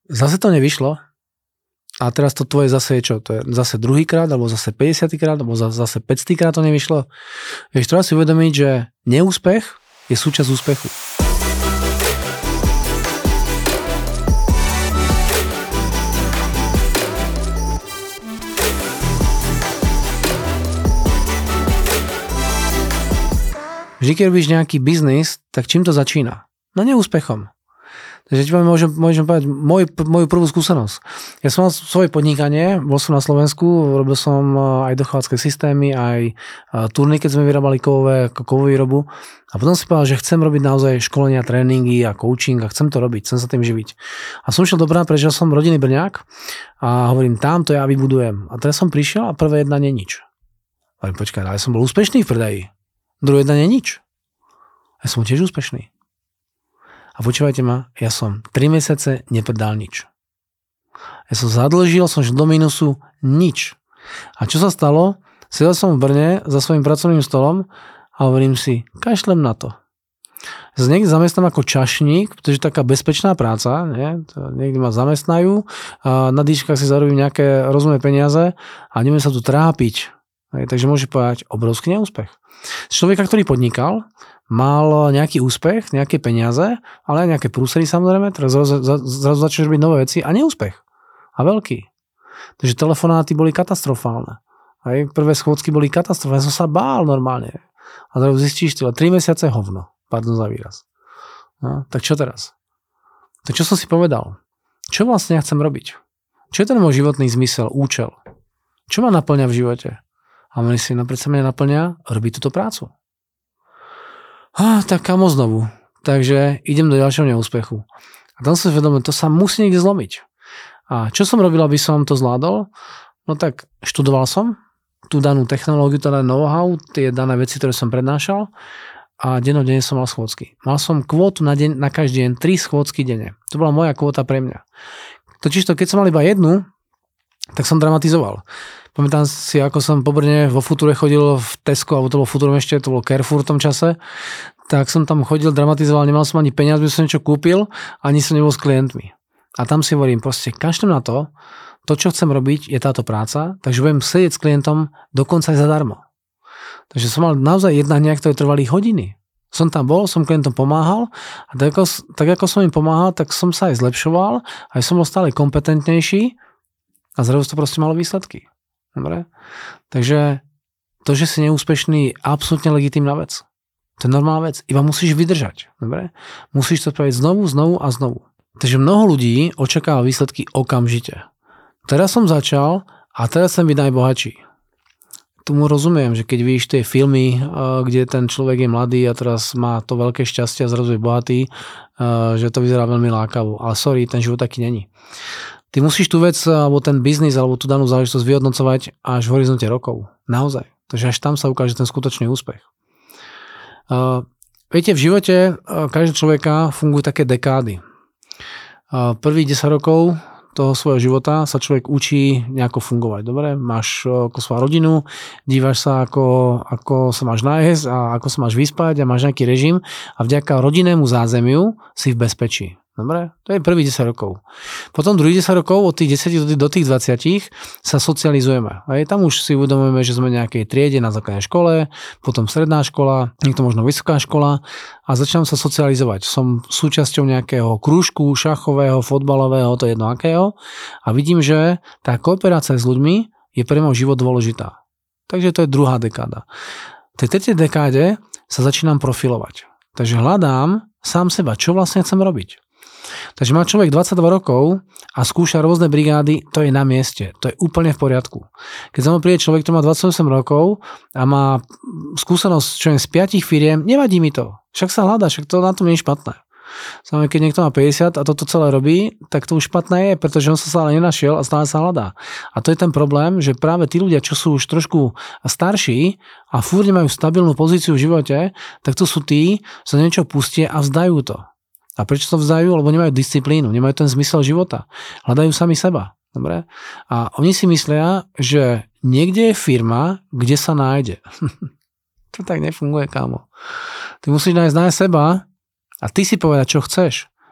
Zase to nevyšlo. A teraz to tvoje zase je čo? To je zase druhýkrát, alebo zase 50 krát, alebo zase 500 krát to nevyšlo. Vieš, treba si uvedomiť, že neúspech je súčasť úspechu. Vždy, keď robíš nejaký biznis, tak čím to začína? No neúspechom. Takže ti môžem povedať moju prvú skúsenosť. Ja som mal svoje podnikanie, bol som na Slovensku, robil som aj dochovacké systémy, aj turny, keď sme vyrábali kovovú výrobu. A potom si povedal, že chcem robiť naozaj školenia, tréningy a coaching a chcem to robiť, chcem sa tým živiť. A som šiel do Brna, pretože som rodinný Brňák a hovorím, tam to ja vybudujem. A teraz som prišiel a prvé jednanie nič. Hovorím, počkaj, ale som bol úspešný v predaji. Druhé jednanie nič. Ja som tiež úspešný. A počúvajte ma, ja som 3 mesiace nepredal nič. Ja som zadlžil, som šiel do mínusu, nič. A čo sa stalo? Sedel som v Brne za svojím pracovným stolom a hovorím si, kašlem na to. Ja sa niekde zamestnám ako čašník, pretože je taká bezpečná práca, nie? Niekde ma zamestnajú, a na dýškach si zarobím nejaké rozumné peniaze a nebudem sa tu trápiť. Takže môže povedať obrovský neúspech. Z človeka, ktorý podnikal, mal nejaký úspech, nejaké peniaze, ale aj nejaké prúsery samozrejme, teraz zrazu začneš robiť nové veci a neúspech. A veľký. Takže telefonáty boli katastrofálne. Aj prvé schôdzky boli katastrofálne. Ja som sa bál normálne. A zrazu zistíš, 3 mesiace hovno. Pardon za výraz. No, tak čo teraz? Tak čo som si povedal? Čo vlastne ja chcem robiť? Čo je ten môj životný zmysel, účel? Čo ma naplňa v živote? A mne si predsa mňa naplňa robiť túto prácu. Tak kamo znovu. Takže idem do ďalšieho neúspechu. A tam som si vedomil, to sa musí niekde zlomiť. A čo som robil, aby som to zvládol? No tak študoval som tú danú technológiu, teda know-how, tie dané veci, ktoré som prednášal a dennodenne som mal schôdzky. Mal som kvótu na každý deň 3 schôdzky denne. To bola moja kvóta pre mňa. Totižto, keď som mal iba jednu, tak som dramatizoval. Pamätám si, ako som po Brne vo Future chodil v Tesco, alebo to bolo Futurum ešte, to bolo Carrefour v tom čase, tak som tam chodil, dramatizoval, nemal som ani peniaz, by som niečo kúpil, ani som nebol s klientmi. A tam si hovorím, proste kašlem na to, čo chcem robiť, je táto práca, takže budem sedieť s klientom dokonca aj zadarmo. Takže som mal naozaj jednania, ktoré trvali hodiny. Som tam bol, som klientom pomáhal a tak ako som im pomáhal, tak som sa aj zlepšoval, aj som bol stále kompetentnejší a zrazu to proste malo výsledky. Dobre? Takže to, že si neúspešný, je absolútne legitímna vec. To je normálna vec. Iba musíš vydržať. Dobre? Musíš to spraviť znovu a znovu. Takže mnoho ľudí očakáva výsledky okamžite. Teraz som začal a teraz chcem byť najbohatší. Tomu rozumiem, že keď vidíš tie filmy, kde ten človek je mladý a teraz má to veľké šťastie a zrazu je bohatý, že to vyzerá veľmi lákavo. Ale sorry, ten život taký není. Ty musíš tú vec, alebo ten biznis, alebo tú danú záležitosť vyhodnocovať až v horizonte rokov. Naozaj. Takže až tam sa ukáže ten skutočný úspech. Viete, v živote každého človeka fungujú také dekády. Prvých 10 rokov toho svojho života sa človek učí nejako fungovať. Dobre? Máš ako svoju rodinu, dívaš sa, ako sa máš nájsť a ako sa máš vyspať a máš nejaký režim a vďaka rodinnému zázemiu si v bezpečí. Dobre? To je prvých 10 rokov. Potom druhých 10 rokov, od tých 10 do tých 20 sa socializujeme. A tam už si uvedomujeme, že sme v nejakej triede na základnej škole, potom stredná škola, niekto možno vysoká škola a začínam sa socializovať. Som súčasťou nejakého krúžku, šachového, fotbalového, to je jedno akého a vidím, že tá kooperácia s ľuďmi je pre môj život dôležitá. Takže to je druhá dekáda. V tej tretej dekáde sa začínam profilovať. Takže hľadám sám seba, čo vlastne chcem robiť. Takže má človek 22 rokov a skúša rôzne brigády, to je na mieste, to je úplne v poriadku. Keď za mnou príde človek, ktorý má 28 rokov a má skúsenosť čo je z 5 firiem, nevadí mi to. Však sa hľadá, však to na tom nie je špatné. Samozrejme, keď niekto má 50 a toto celé robí, tak to už špatné je, pretože on sa stále nenašiel a stále sa hľadá. A to je ten problém, že práve tí ľudia, čo sú už trošku starší a fúr nemajú stabilnú pozíciu v živote, tak to sú tí, čo niečo pustia a vzdajú to. A prečo to vzdajú? Lebo nemajú disciplínu, nemajú ten zmysel života. Hľadajú sami seba. Dobre? A oni si myslia, že niekde je firma, kde sa nájde. To tak nefunguje, kámo. Ty musíš nájsť seba a ty si povedať, čo chceš.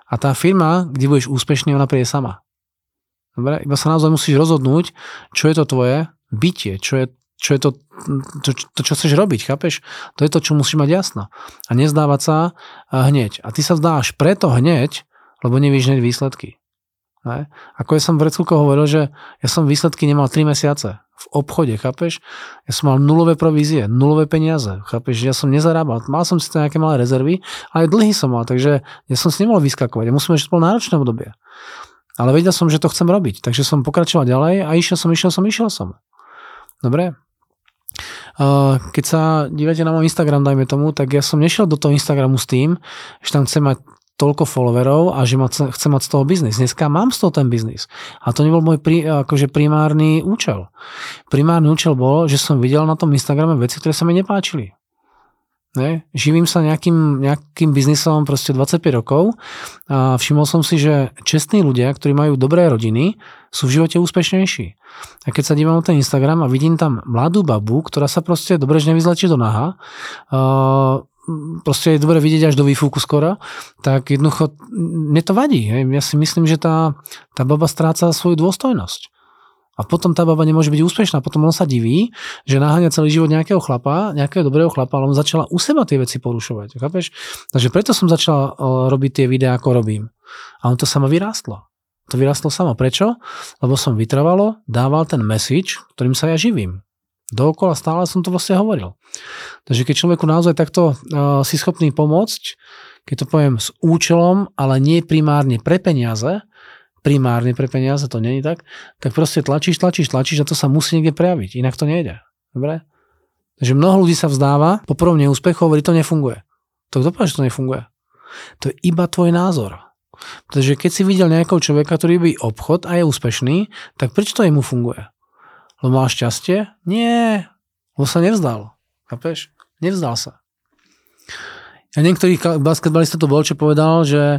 A tá firma, kde budeš úspešný, ona príde sama. Dobre? Iba sa naozaj musíš rozhodnúť, čo je to tvoje bytie, čo je to, čo chceš robiť, chápeš? To je to, čo musíš mať jasno. A nezdávať sa hneď. A ty sa vzdáš preto hneď, lebo nevíš hneď výsledky. Ne? Ako ja som pred chvíľkou hovoril, že ja som výsledky nemal 3 mesiace v obchode, chápeš? Ja som mal nulové provízie, nulové peniaze, chápeš? Ja som nezarábal, mal som si to nejaké malé rezervy, ale aj dlhy som mal, takže ja som si nemohol vyskakovať. Ja musím ešte bolo náročné obdobie. Ale vedel som, že to chcem robiť, takže som pokračoval ďalej a išiel som. Dobre? Keď sa dívate na môj Instagram, dajme tomu, tak ja som nešiel do toho Instagramu s tým, že tam chcem mať toľko followerov a že chcem mať z toho biznis. Dneska mám z toho ten biznis. A to nebol môj primárny účel. Primárny účel bol, že som videl na tom Instagrame veci, ktoré sa mi nepáčili. Ne? Živím sa nejakým biznisom proste 25 rokov a všimol som si, že čestní ľudia, ktorí majú dobré rodiny, sú v živote úspešnejší. A keď sa dívam na ten Instagram a vidím tam mladú babu, ktorá sa proste dobre nevyzlečí do naha, proste je dobre vidieť až do výfuku skoro, tak jednoducho mne to vadí. Hej. Ja si myslím, že tá baba stráca svoju dôstojnosť. A potom tá baba nemôže byť úspešná. Potom on sa diví, že naháňa celý život nejakého dobrého chlapa, ale on začala u seba tie veci porušovať. Chápeš? Takže preto som začal robiť tie videá, ako robím. A on to samo vyrástlo. To vyrástlo samo. Prečo? Lebo som vytrvalo dával ten message, ktorým sa ja živím. Dookola stále som to vlastne hovoril. Takže keď človeku naozaj takto si schopný pomôcť, keď to poviem s účelom, ale nie primárne pre peniaze, to nie je tak proste tlačíš a to sa musí niekde prejaviť, inak to nejde. Dobre? Takže mnoho ľudí sa vzdáva, po prvom neúspechu hovorí, to nefunguje. To kto povie, že to nefunguje? To je iba tvoj názor. Pretože keď si videl nejakého človeka, ktorý robí obchod a je úspešný, tak prečo to jemu funguje? Lebo mal šťastie? Nie. Lebo sa nevzdal. Chápeš? Nevzdal sa. A niektorý basketbalista to bol, čo povedal, že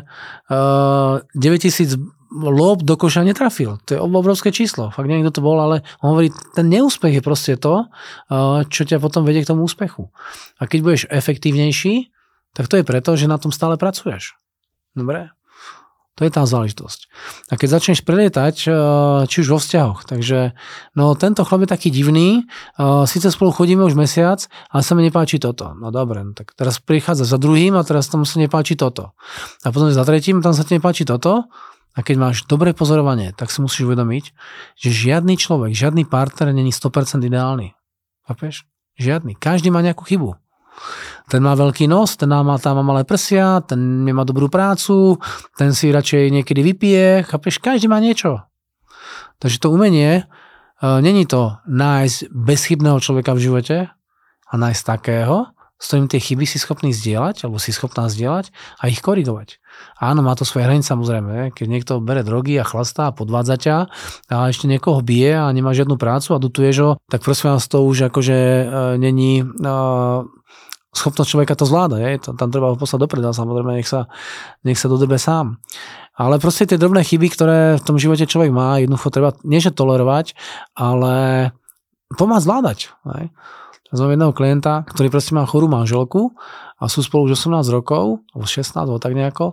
9000 lob do koša netrafil. To je obrovské číslo. Fakt neviem, kto to bol, ale on hovorí, ten neúspech je proste to, čo ťa potom vedie k tomu úspechu. A keď budeš efektívnejší, tak to je preto, že na tom stále pracuješ. Dobre? To je tá záležitosť. A keď začneš prelietať, či už vo vzťahoch, takže no tento chlap je taký divný, síce spolu chodíme už mesiac, ale sa mi nepáči toto. No dobre, no tak teraz prichádza za druhým a teraz tam sa nepáči toto. A potom za tretím, tam sa ti nepáči toto. A keď máš dobré pozorovanie, tak si musíš uvedomiť, že žiadny človek, žiadny partner není 100% ideálny. Chápeš? Žiadny. Každý má nejakú chybu. Ten má veľký nos, ten má malé prsia, ten nemá dobrú prácu, ten si radšej niekedy vypije, chápeš, každý má niečo. Takže to umenie, není to nájsť bezchybného človeka v živote a nájsť takého, s ktorým tie chyby si schopný zdieľať, alebo si schopná zdieľať a ich korigovať. Áno, má to svoje hranice samozrejme, keď niekto bere drogy a chlastá a podvádza ťa a ešte niekoho bije a nemá žiadnu prácu a dutuješ ho, tak prosím vás, to už akože není schopnosť človeka to zvláda, tam treba ho poslať dopredu, samozrejme nech sa dodebe sám. Ale proste tie drobné chyby, ktoré v tom živote človek má, jednoducho treba nieže tolerovať, ale pomáhať zvládať. Znam jedného klienta, ktorý proste má chorú manželku a sú spolu už 18 rokov, alebo 16, alebo tak nejako,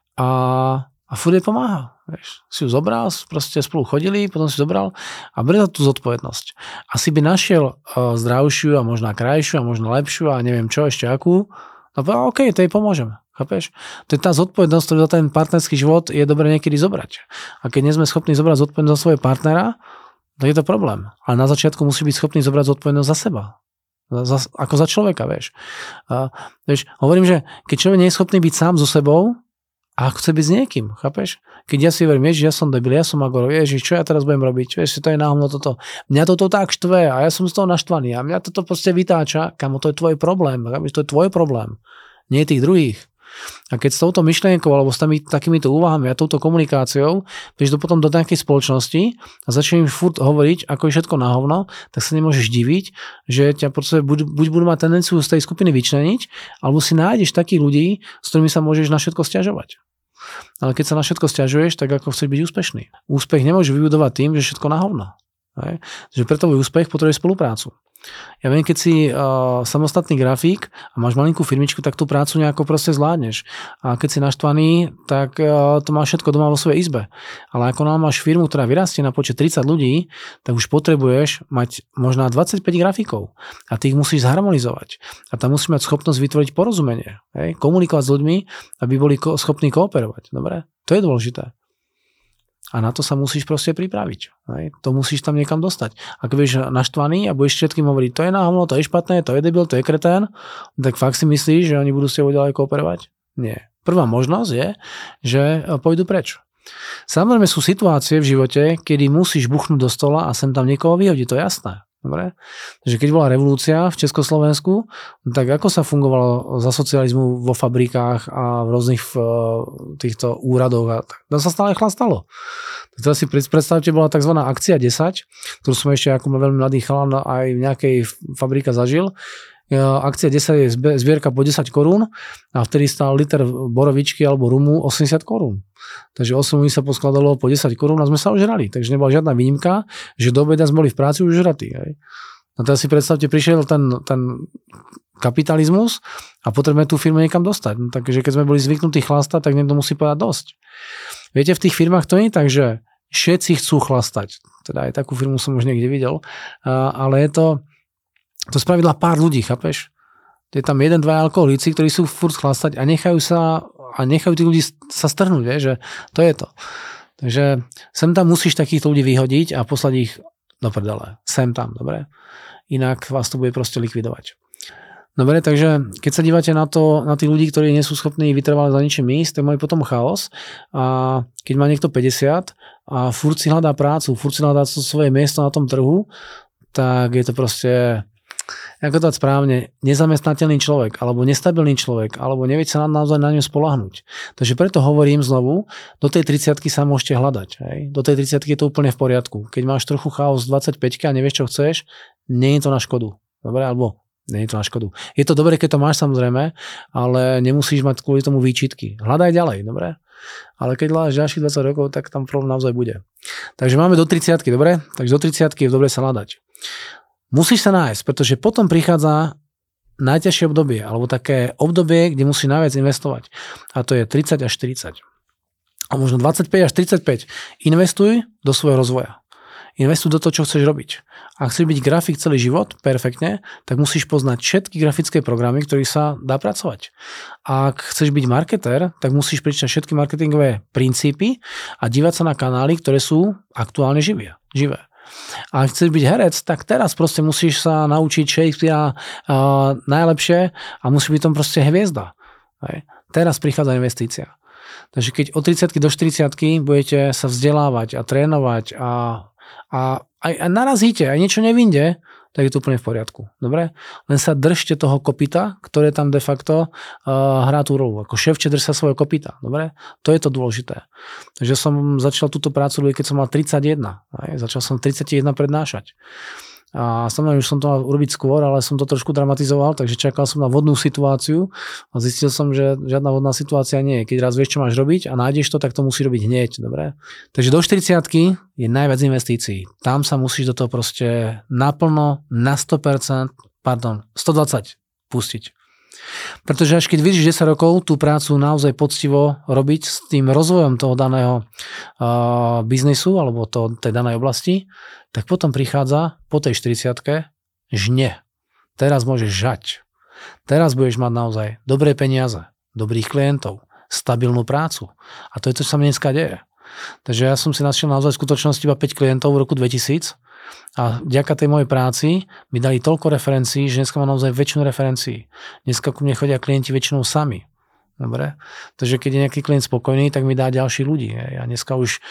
a furt jej pomáha. Vieš. Si ju zobral, proste spolu chodili, potom si zobral a berie tú zodpovednosť. Asi by našiel zdravšiu a možno krajšiu a možno lepšiu a neviem čo, ešte akú, no OK, to jej pomôžem. Chápeš? To je tá zodpovednosť, ktorú za ten partnerský život je dobre niekedy zobrať. A keď nie sme schopní zobrať zodpovednosť za svojho partnera, tak je to problém. Ale na začiatku musí byť schopný zobrať zodpovednosť za seba. Ako za človeka, vieš. Vieš. Hovorím, že keď človek nie je schopný byť sám so sebou, a chce byť s niekým, chápeš? Keď ja si verím, ja som debil, ja som agoro, Ježiš, čo ja teraz budem robiť? Vieš, to je náhodou toto. Mňa toto tak štve a ja som z toho naštvaný a mňa toto proste vytáča, kamo, to je tvoj problém, chápeš? To je tvoj problém, nie tých druhých. A keď s touto myšlienkou alebo s takýmito úvahami a touto komunikáciou vieš potom do nejakej spoločnosti a začneš furt hovoriť, ako je všetko na hovno, tak sa nemôžeš diviť, že ťa buď budú mať tendenciu z tej skupiny vyčleniť, alebo si nájdeš takých ľudí, s ktorými sa môžeš na všetko sťažovať. Ale keď sa na všetko sťažuješ, tak ako chceš byť úspešný. Úspech nemôžeš vybudovať tým, že všetko na hovno. Takže preto úspech potrebuje spoluprácu. Ja viem, keď si samostatný grafík a máš malinkú firmičku, tak tú prácu nejako proste zvládneš. A keď si naštvaný, tak to máš všetko doma vo svojej izbe. Ale ako máš firmu, ktorá vyrastie na počet 30 ľudí, tak už potrebuješ mať možná 25 grafíkov. A ty ich musíš zharmonizovať. A tam musíš mať schopnosť vytvoriť porozumenie. Hej? Komunikovať s ľuďmi, aby boli schopní kooperovať. Dobre? To je dôležité. A na to sa musíš proste pripraviť. Hej? To musíš tam niekam dostať. Ak budeš naštvaný a budeš všetkým hovoriť, to je náhovno, to je špatné, to je debil, to je kretén, tak fakt si myslíš, že oni budú s tebou ďalej kooperovať? Nie. Prvá možnosť je, že pôjdu preč. Samozrejme sú situácie v živote, kedy musíš buchnúť do stola a sem tam niekoho vyhodiť, to je jasné. Dobre? Takže keď bola revolúcia v Československu, tak ako sa fungovalo za socializmu vo fabrikách a v rôznych týchto úradoch a tam sa stále chlastalo. Teraz si predstavte, bola tzv. Akcia 10, ktorú som ešte ako veľmi mladý chalan aj v nejakej fabrike zažil. Akcia 10 je zbierka po 10 korún a vtedy stál liter borovičky alebo rumu 80 korún. Takže 8 ľudí sa poskladalo po 10 korún a sme sa ožrali. Takže nebola žiadna výnimka, že do obeda sme boli v práci už žratí. A teraz si predstavte, prišiel ten kapitalizmus a potrebujeme tú firmu niekam dostať. No, takže keď sme boli zvyknutí chlastať, tak niekto musí povedať dosť. Viete, v tých firmách to nie je tak, že všetci chcú chlastať. Teda aj takú firmu som už niekde videl. Ale je to spravidla pár ľudí, chápeš? Je tam 1-2 alkoholíci, ktorí sú furt chlastať a nechajú tých ľudí sa strhnúť, vieš, že to je to. Takže sem tam musíš takýchto ľudí vyhodiť a poslať ich do prdele. Sem tam, dobre? Inak vás to bude proste likvidovať. Dobre, takže keď sa dívate na tých ľudí, ktorí nie sú schopní vytrvale za ničím ísť, tak majú potom chaos. A keď má niekto 50 a furt si hľadá prácu, furt si hľadá svoje miesto na tom trhu, tak je to proste, ako to správne, nezamestnateľný človek, alebo nestabilný človek, alebo nevie sa naozaj na ňu spoľahnúť. Takže preto hovorím znovu, do tej 30-ky sa môžete hľadať. Hej? Do tej 30-ky je to úplne v poriadku. Keď máš trochu chaos 25 a nevieš, čo chceš, nie je to na škodu. Dobre? Alebo nie je to na škodu. Je to dobre, keď to máš samozrejme, ale nemusíš mať kvôli tomu výčitky. Hľadaj ďalej, dobre? Ale keď hľadáš ďalších 20 rokov, tak tam problém naozaj bude. Takže máme do 30-ky, dobre? Takže do 30-ky je dobre sa hľadať. Musíš sa nájsť, pretože potom prichádza najťažšie obdobie, alebo také obdobie, kde musíš najviac investovať. A to je 30 až 40. A možno 25 až 35. Investuj do svojho rozvoja. Investuj do toho, čo chceš robiť. Ak chceš byť grafik celý život, perfektne, tak musíš poznať všetky grafické programy, ktorých sa dá pracovať. Ak chceš byť marketér, tak musíš prečítať všetky marketingové princípy a dívať sa na kanály, ktoré sú aktuálne živé. A ak chceš byť herec, tak teraz proste musíš sa naučiť Shakespearea najlepšie a musí byť tam proste hviezda. Hej. Teraz prichádza investícia. Takže keď od 30 do 40 budete sa vzdelávať a trénovať a narazíte, aj niečo nevinde, tak je to úplne v poriadku. Dobre? Len sa držte toho kopyta, ktoré tam de facto hrá tú rolu. Ako ševče, drž sa svojho kopyta. Dobre? To je to dôležité. Takže som začal túto prácu robiť, keď som mal 31. Začal som 31 prednášať. A samozrejme, už som to mal urobiť skôr, ale som to trošku dramatizoval, takže čakal som na vodnú situáciu a zistil som, že žiadna vodná situácia nie je. Keď raz vieš, čo máš robiť a nájdeš to, tak to musí robiť hneď, dobre? Takže do 40-ky je najviac investícií. Tam sa musíš do toho proste naplno, na 120 pustiť. Pretože až keď vidíš 10 rokov tú prácu naozaj poctivo robiť s tým rozvojom toho daného biznisu alebo tej danej oblasti, tak potom prichádza po tej 40-ke žne. Teraz môžeš žať. Teraz budeš mať naozaj dobré peniaze, dobrých klientov, stabilnú prácu. A to je to, čo sa mi dneska deje. Takže ja som si našiel naozaj v skutočnosti iba 5 klientov v roku 2000 a vďaka tej mojej práci mi dali toľko referencií, že dneska mám naozaj väčšinu referencií. Dneska ku mne chodia klienti väčšinou sami. Dobre? Takže keď je nejaký klient spokojný, tak mi dá ďalší ľudí. Ja dneska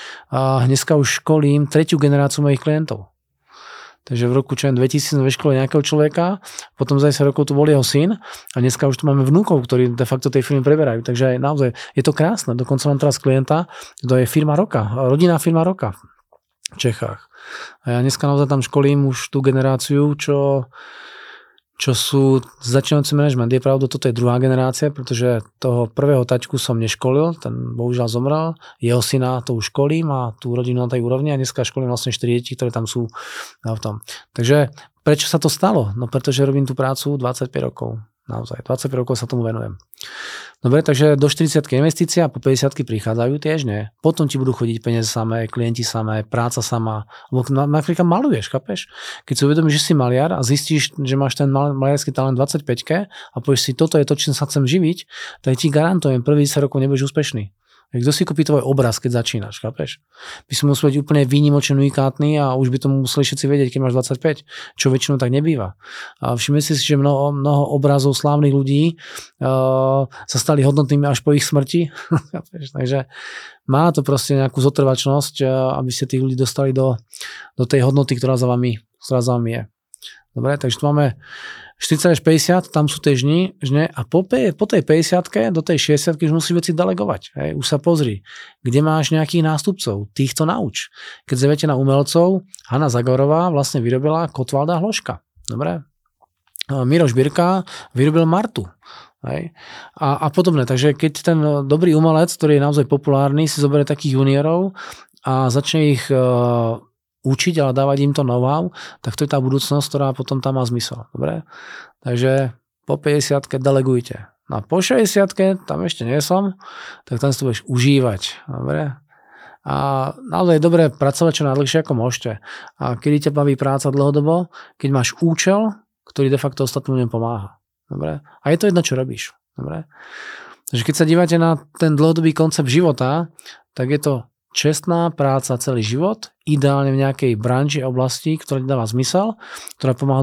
už školím 3. generáciu mojich klientov. Takže v roku 2000 sme vyškolili nejakého človeka, potom za 10 rokov tu bol jeho syn a dneska už tu máme vnúkov, ktorí de facto tej firmy preberajú. Takže naozaj je to krásne. Dokonca mám teraz klienta, to je firma roka, rodinná firma roka v Čechách. A ja dneska naozaj tam školím už tú generáciu, čo sú začínajúci manažment. Je pravda, toto je druhá generácia, pretože toho prvého taťku som neškolil, ten bohužiaľ zomrel, jeho syna to už školím a tú rodinu na tej úrovni a dneska školím vlastne 4 deti, ktoré tam sú v tom. Takže prečo sa to stalo? No pretože robím tú prácu 25 rokov. Naozaj, 25 rokov sa tomu venujem. Dobre, takže do 40-ky investícia, po 50-ky prichádzajú tiež, nie? Potom ti budú chodiť peniaze samé, klienti samé, práca sama. Lebo napríklad maluješ, chápeš? Keď si uvedomíš, že si maliar a zistíš, že máš ten maliarský talent 25-ke a povieš si, toto je to, čím sa chcem živiť, tak ti garantujem, prvých 10 rokov nebudeš úspešný. Kto si kúpi tvoj obraz, keď začínaš, chápeš? By si musel byť úplne výnimočne unikátny a už by to museli všetci vedieť, keď máš 25, čo väčšinou tak nebýva. A všimni si, že mnoho obrazov slávnych ľudí sa stali hodnotnými až po ich smrti. Takže má to proste nejakú zotrvačnosť, aby ste tých ľudí dostali do tej hodnoty, ktorá za vami je. Dobre, takže tu máme 40 až 50, tam sú tie žny a po tej 50-ke do tej 60-ky už musíš veci delegovať. Hej. Už sa pozri, kde máš nejakých nástupcov, týchto nauč. Keď zviete na umelcov, Hanna Zagorová vlastne vyrobila Kotvalda Hloška. Dobre? Miroš Birka vyrobil Martu. Hej. A podobne. Takže keď ten dobrý umelec, ktorý je naozaj populárny, si zoberie takých juniorov a začne ich učiť, ale dávať im to know-how, tak to je tá budúcnosť, ktorá potom tam má zmysel. Dobre? Takže po 50-ke delegujte. A po 60-ke, tam ešte nie som, tak tam si to budeš užívať. Dobre? A naozaj je dobré pracovať čo najdlhšie ako môžete. A kedy ťa baví práca dlhodobo, keď máš účel, ktorý de facto ostatným pomáha. Dobre? A je to jedno, čo robíš. Dobre? Takže keď sa dívate na ten dlhodobý koncept života, tak je to čestná práca celý život, ideálne v nejakej branži a oblasti, ktorá ti dáva zmysel, ktorý pomáha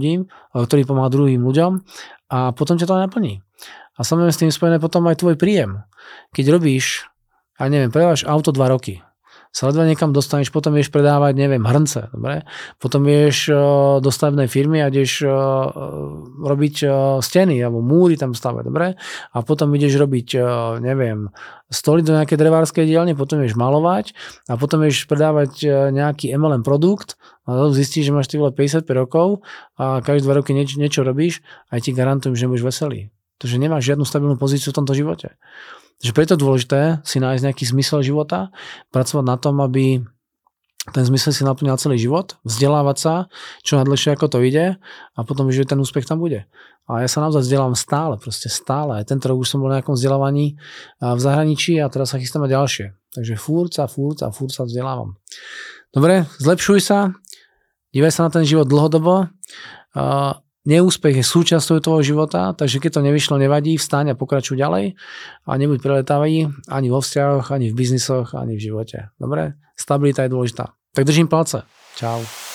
druhým ľuďom a potom ťa to naplní. A samozrejme s tým spojené potom aj tvoj príjem. Keď robíš, predávaš auto 2 roky, sa ledva niekam dostaneš, potom vieš predávať, hrnce, dobre? Potom vieš do stavebnej firmy a ideš robiť steny alebo múry tam stavať, dobre? A potom ideš robiť, stoly do nejakej drevárskej dielne, potom vieš malovať a potom vieš predávať nejaký MLM produkt a zistíš, že máš 55 rokov a každé 2 roky niečo robíš a ti garantujem, že budeš veselý. Takže nemáš žiadnu stabilnú pozíciu v tomto živote. Takže preto je dôležité si nájsť nejaký zmysel života, pracovať na tom, aby ten zmysel si naplňal celý život, vzdelávať sa, čo najdlhšie ako to ide a potom, že ten úspech tam bude. A ja sa naozaj vzdelávam stále. Aj tento rok už som bol na nejakom vzdelávaní v zahraničí a teraz sa chystám na ďalšie. Takže furt sa vzdelávam. Dobre, zlepšuj sa, dívaj sa na ten život dlhodobo. Neúspech je súčasťou tvojho života, takže keď to nevyšlo, nevadí, vstaň a pokračuj ďalej a nebuď preletavý ani vo vzťahoch, ani v biznisoch, ani v živote. Dobre? Stabilita je dôležitá. Tak držím palce. Čau.